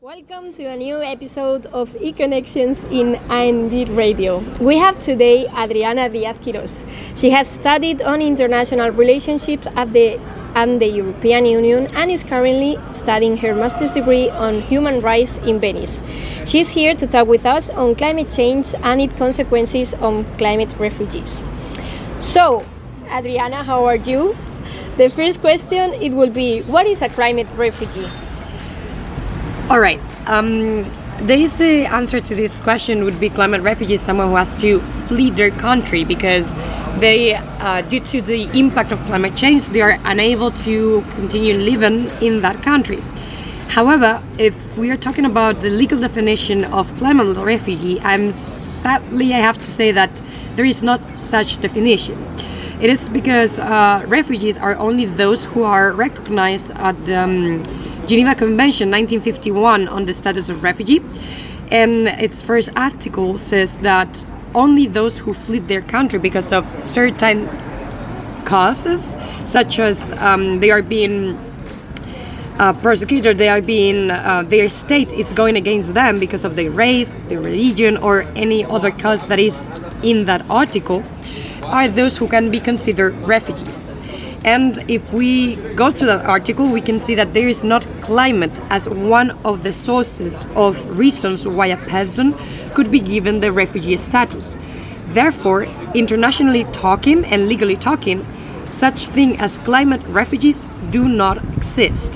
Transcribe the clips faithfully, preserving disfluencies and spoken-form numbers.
Welcome to a new episode of eConnections in A N D Radio. We have today Adriana Díaz Quirós. She has studied on international relationships at the and the European Union and is currently studying her master's degree on human rights in Venice. She is here to talk with us on climate change and its consequences on climate refugees. So, Adriana, how are you? The first question it will be, what is a climate refugee? All right. Um, the easy answer to this question would be climate refugee is someone who has to flee their country because they, uh, due to the impact of climate change, they are unable to continue living in that country. However, if we are talking about the legal definition of climate refugee, I'm sadly I have to say that there is not such definition. It is because uh, refugees are only those who are recognized at the um, Geneva Convention nineteen fifty-one on the status of refugee, and its first article says that only those who fled their country because of certain causes, such as um, they are being uh, persecuted, they are being uh, their state is going against them because of their race, their religion, or any other cause that is in that article, are those who can be considered refugees. And if we go to that article, we can see that there is not climate as one of the sources of reasons why a person could be given the refugee status. Therefore, internationally talking and legally talking, such thing as climate refugees do not exist.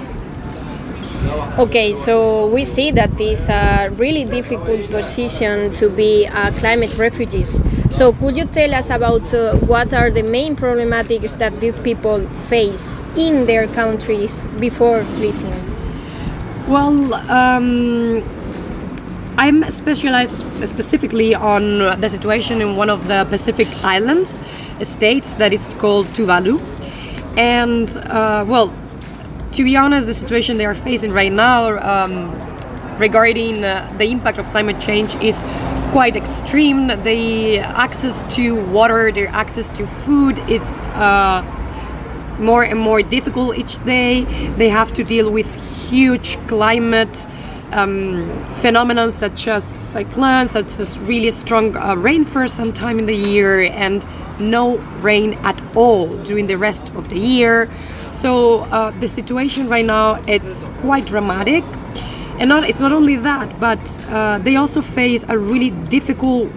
Okay, so we see that it's a really difficult position to be a climate refugees. So could you tell us about uh, what are the main problematics that these people face in their countries before fleeing? Well, um, I'm specialized specifically on the situation in one of the Pacific Islands states that it's called Tuvalu. And, uh, well, to be honest, the situation they are facing right now um, regarding uh, the impact of climate change is quite extreme. The access to water, their access to food is uh, more and more difficult each day. They have to deal with huge climate um, phenomena such as cyclones, such as really strong uh, rain for some time in the year and no rain at all during the rest of the year. So uh, the situation right now, it's quite dramatic. And not, it's not only that, but uh, they also face a really difficult,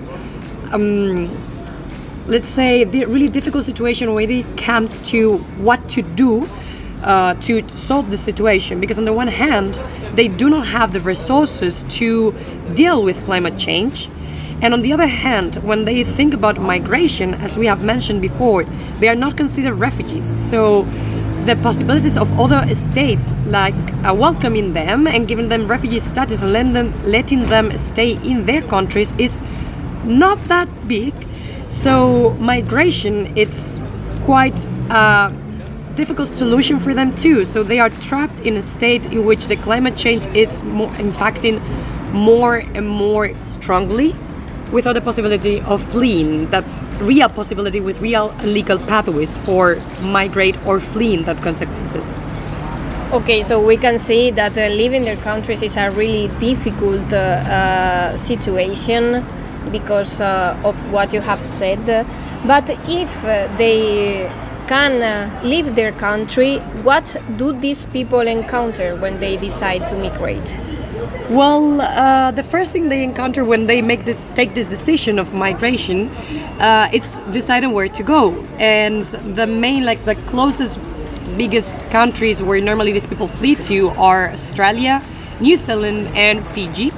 um, let's say, the really difficult situation when it comes to what to do uh, to solve the situation. Because on the one hand, they do not have the resources to deal with climate change. And on the other hand, when they think about migration, as we have mentioned before, they are not considered refugees. So the possibilities of other states like uh, welcoming them and giving them refugee status and letting them, letting them stay in their countries is not that big. So migration, it's quite a difficult solution for them too. So they are trapped in a state in which the climate change is more impacting more and more strongly without the possibility of fleeing, that real possibility with real legal pathways for migrate or fleeing that consequences. Okay, so we can see that uh, leaving their countries is a really difficult uh, uh, situation because uh, of what you have said. But if uh, they can uh, leave their country, what do these people encounter when they decide to migrate? Well, uh, the first thing they encounter when they make the, take this decision of migration, uh, it's deciding where to go. And the main, like the closest, biggest countries where normally these people flee to are Australia, New Zealand, and Fiji.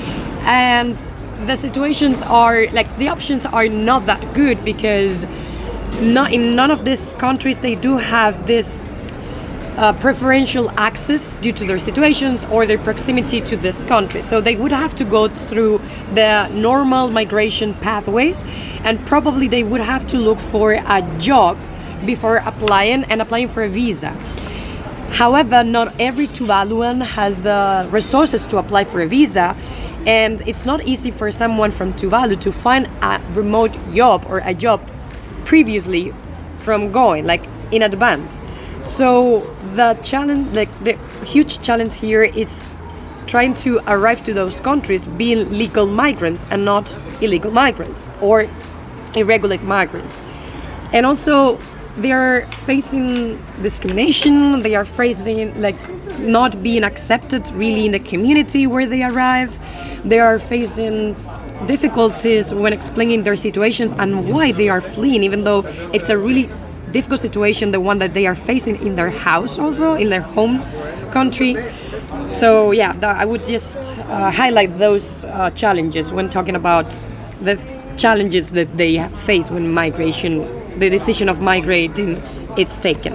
And the situations are, like the options are not that good because not in none of these countries they do have this Uh, preferential access due to their situations or their proximity to this country. So they would have to go through the normal migration pathways and probably they would have to look for a job before applying and applying for a visa. However, not every Tuvaluan has the resources to apply for a visa, and it's not easy for someone from Tuvalu to find a remote job or a job previously from going, like in advance. So the challenge, like the huge challenge here, is trying to arrive to those countries being legal migrants and not illegal migrants or irregular migrants. And also they are facing discrimination, they are facing like not being accepted really in the community where they arrive, they are facing difficulties when explaining their situations and why they are fleeing, even though it's a really difficult situation, the one that they are facing in their house also, in their home country. So yeah, th- I would just uh, highlight those uh, challenges when talking about the challenges that they face when migration, the decision of migrating, it's taken.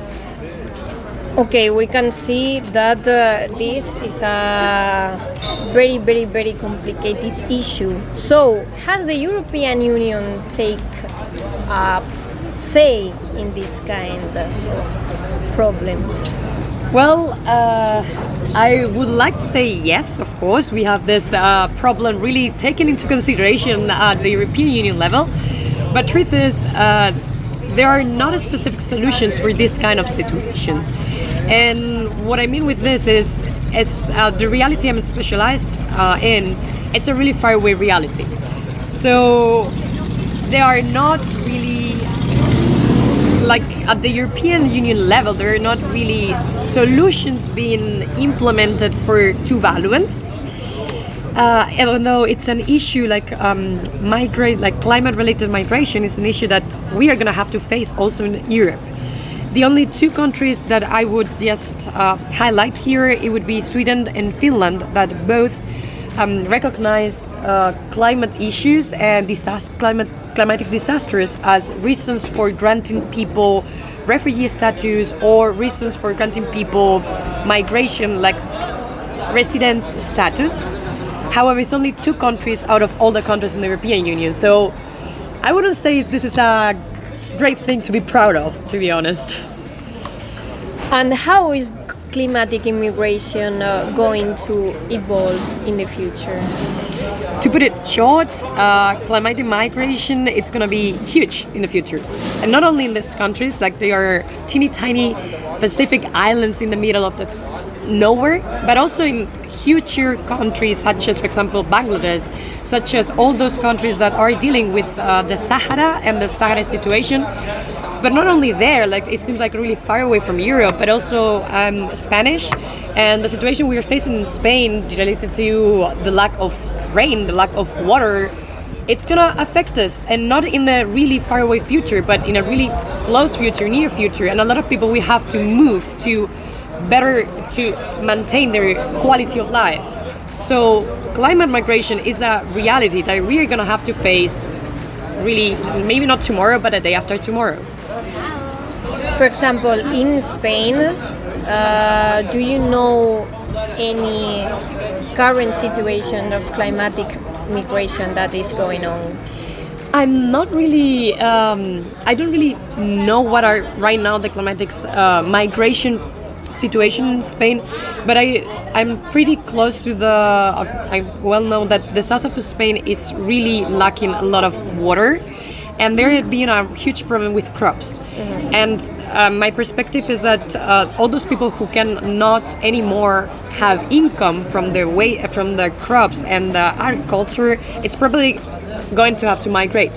Okay, we can see that uh, this is a very, very, very complicated issue. So, has the European Union take a say in this kind of problems? Well, uh, I would like to say yes, of course. We have this uh, problem really taken into consideration at the European Union level. But truth is, uh, there are not specific solutions for this kind of situations. And what I mean with this is, it's uh, the reality I'm specialized uh, in, it's a really far away reality. So there are not really, like at the European Union level, there are not really solutions being implemented for Tuvaluans. Uh, even though it's an issue like um, migrate, like climate-related migration is an issue that we are going to have to face also in Europe. The only two countries that I would just uh, highlight here, it would be Sweden and Finland, that both um, recognize uh, climate issues and disaster, climate, climatic disasters as reasons for granting people refugee status or reasons for granting people migration, like residence status. However, it's only two countries out of all the countries in the European Union. So I wouldn't say this is a great thing to be proud of, to be honest. And how is climatic immigration uh, going to evolve in the future? To put it short, uh, climatic migration, it's going to be huge in the future. And not only in these countries, like they are teeny tiny Pacific islands in the middle of the nowhere, but also in future countries such as, for example, Bangladesh, such as all those countries that are dealing with uh, the Sahara and the Sahara situation. But not only there, like it seems like really far away from Europe, but also um, Spanish, and the situation we are facing in Spain related to the lack of rain, the lack of water, it's gonna affect us, and not in a really far away future, but in a really close future, near future. And a lot of people we have to move to better to maintain their quality of life. So climate migration is a reality that we are gonna have to face really, maybe not tomorrow, but a day after tomorrow. For example, in Spain, uh, do you know any current situation of climatic migration that is going on? I'm not really, um, I don't really know what are right now the climatic uh, migration situation in Spain, but I, I'm pretty close to the, uh, I well know that the south of Spain, it's really lacking a lot of water, and there has been a huge problem with crops. Mm-hmm. And uh, my perspective is that uh, all those people who cannot anymore have income from their way, from the crops and the agriculture, it's probably going to have to migrate.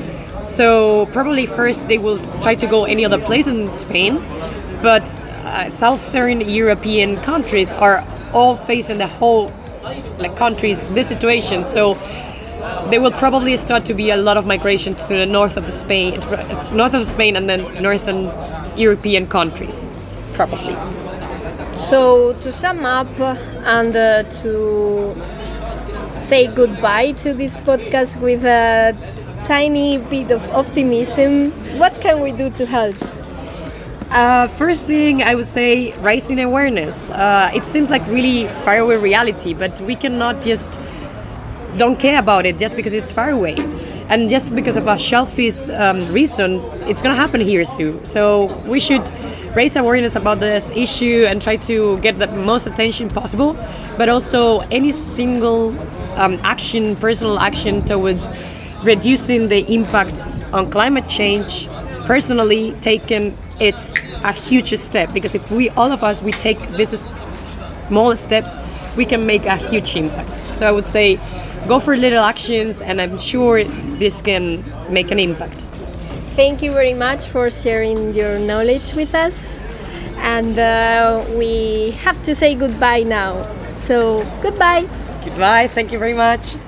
So probably first they will try to go any other place in Spain, but uh, southern European countries are all facing the whole like countries this situation. So there will probably start to be a lot of migration to the north of Spain, north of Spain, and then northern European countries, probably. So to sum up and uh, to say goodbye to this podcast with a tiny bit of optimism, what can we do to help? Uh, first thing I would say, raising awareness. Uh, it seems like really far away reality, but we cannot just don't care about it just because it's far away. And just because of a selfish um, reason, it's going to happen here soon. So we should raise awareness about this issue and try to get the most attention possible, but also any single um, action, personal action towards reducing the impact on climate change, personally taken, it's a huge step, because if we, all of us, we take these small steps, we can make a huge impact. So I would say go for little actions, and I'm sure this can make an impact. Thank you very much for sharing your knowledge with us. And uh, we have to say goodbye now. So, goodbye. Goodbye. Thank you very much.